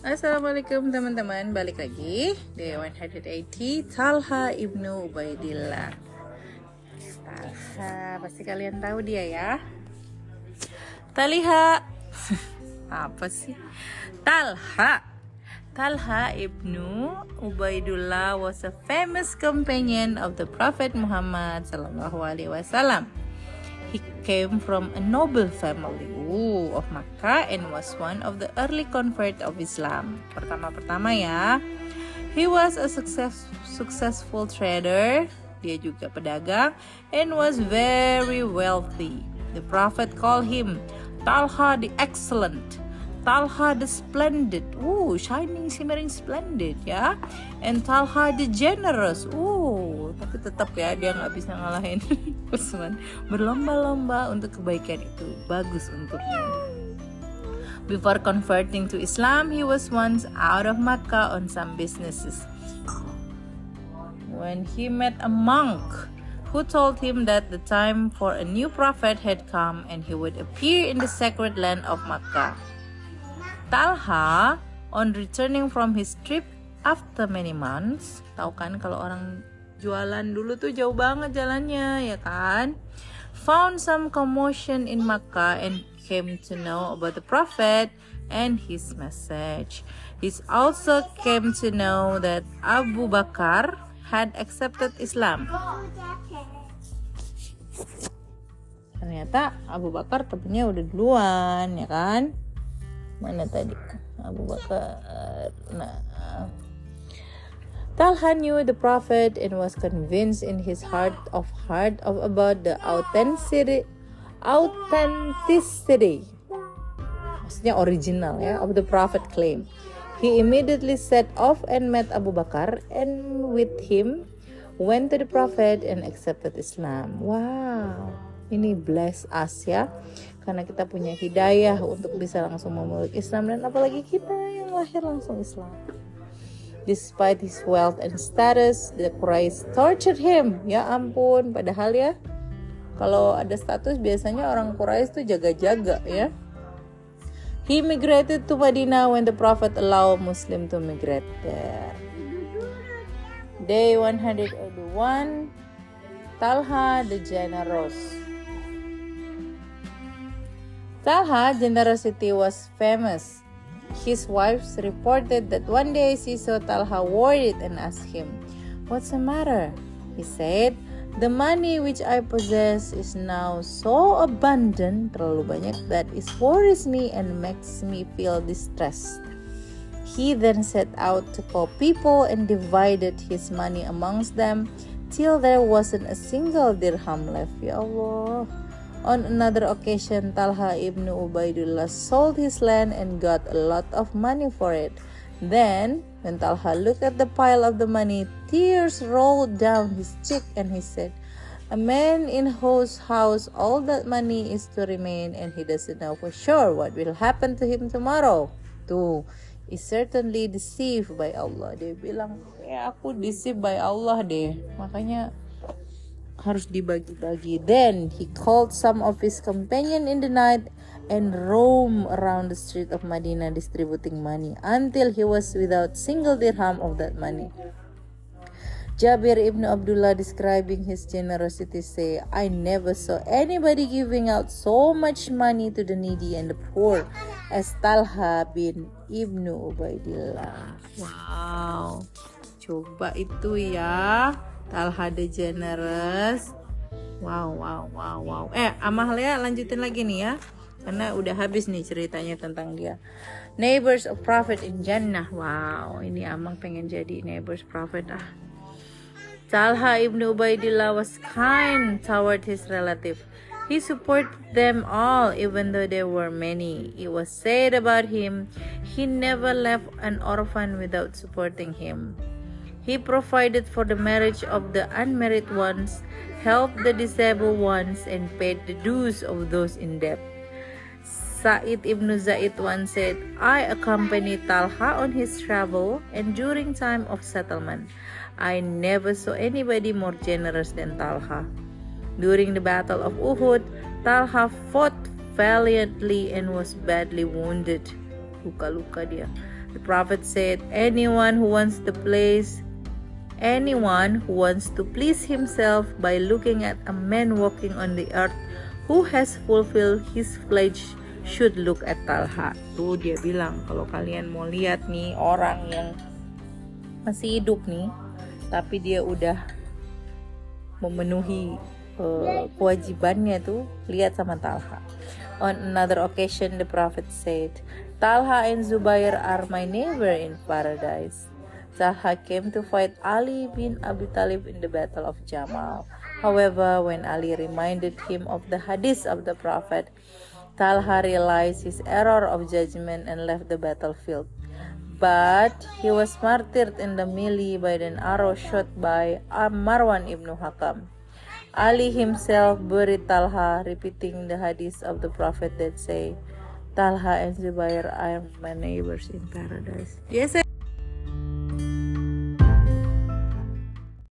Assalamualaikum teman-teman, balik lagi di 180 Talha ibnu Ubaidillah. Talha, pasti kalian tahu dia ya. Taliha apa sih? Talha ibnu Ubaidullah was a famous companion of the Prophet Muhammad sallallahu alaihi wasallam. He came from a noble family of Makkah and was one of the early convert of Islam. Pertama ya, he was a successful trader. Dia juga pedagang and was very wealthy. The Prophet called him Talha the Excellent, Talha the Splendid, shining, shimmering, splendid ya, and Talha the Generous. Tapi tetap ya dia nggak bisa ngalahin Utsman. Berlomba-lomba untuk kebaikan itu bagus untuknya. Before converting to Islam, he was once out of Makkah on some businesses. When he met a monk who told him that the time for a new prophet had come and he would appear in the sacred land of Makkah. Talha, on returning from his trip after many months, tahu kan kalau orang jualan dulu tuh jauh banget jalannya ya kan, found some commotion in Makkah and came to know about the Prophet and his message. He also came to know that Abu Bakar had accepted Islam. Ternyata Abu Bakar temennya udah duluan ya kan. Mana tadi Abu Bakar? Talha knew the Prophet and was convinced in his heart about the authenticity, maksudnya original ya, of the Prophet claim. He immediately set off and met Abu Bakar and with him went to the Prophet and accepted Islam. Wow, ini bless us ya, karena kita punya hidayah untuk bisa langsung memeluk Islam, dan apalagi kita yang lahir langsung Islam. Despite his wealth and status, the Quraysh tortured him. Ya ampun, padahal ya kalau ada status biasanya orang Quraysh tuh jaga-jaga ya. He migrated to Madinah when the Prophet allowed Muslim to migrate there. Day 181, Talha the Generous. Talha generosity was famous. His wife reported that one day she saw Talha worried and asked him, "What's the matter?" He said, "The money which I possess is now so abundant, terlalu banyak, that it worries me and makes me feel distressed." He then set out to call people and divided his money amongst them till there wasn't a single dirham left. Ya Allah. On another occasion, Talha ibn Ubaidullah sold his land and got a lot of money for it. Then, when Talha looked at the pile of the money, tears rolled down his cheek and he said, "A man in whose house all that money is to remain and he doesn't know for sure what will happen to him tomorrow, too, is certainly deceived by Allah." Dia bilang, aku deceived by Allah deh, makanya harus dibagi-bagi. Then he called some of his companions in the night and roamed around the street of Medina distributing money until he was without single dirham of that money. Jabir ibn Abdullah, describing his generosity, say, "I never saw anybody giving out so much money to the needy and the poor as Talha bin ibnu Ubaidillah." Wow, coba itu ya, Talha the Generous. Wow. Amalia lanjutin lagi nih ya, karena udah habis nih ceritanya tentang dia. Neighbors of Prophet in Jannah. Wow, ini Amang pengen jadi neighbors Prophet ah. Talha ibn Ubaidillah was kind toward his relative. He supported them all even though there were many. It was said about him, he never left an orphan without supporting him. He provided for the marriage of the unmarried ones, helped the disabled ones, and paid the dues of those in debt. Sa'id ibn Zaid once said, "I accompanied Talha on his travel, and during time of settlement, I never saw anybody more generous than Talha. During the Battle of Uhud, Talha fought valiantly and was badly wounded. Luka-luka dia. The Prophet said, anyone who wants to please himself by looking at a man walking on the earth who has fulfilled his pledge should look at Talha. Tuh dia bilang, kalau kalian mau lihat nih orang yang masih hidup nih, tapi dia udah memenuhi kewajibannya tuh, lihat sama Talha. On another occasion, the Prophet said, Talha and Zubair are my neighbor in paradise. Talha came to fight Ali bin Abi Talib in the Battle of Jamal. However, when Ali reminded him of the hadith of the Prophet, Talha realized his error of judgment and left the battlefield. But he was martyred in the melee by an arrow shot by Marwan ibn Hakam. Ali himself buried Talha, repeating the hadith of the Prophet that say, Talha and Zubair are my neighbors in paradise. Yes.